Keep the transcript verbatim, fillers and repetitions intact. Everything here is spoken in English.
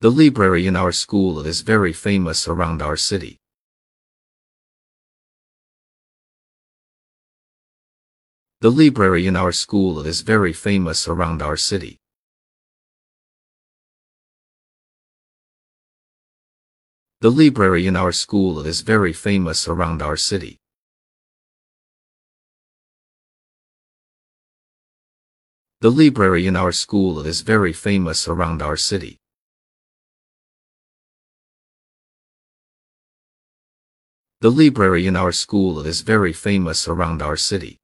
The library in our school is very famous around our city. The library in our school is very famous around our city. The library in our school is very famous around our city. The library in our school is very famous around our city. The library in our school is very famous around our city.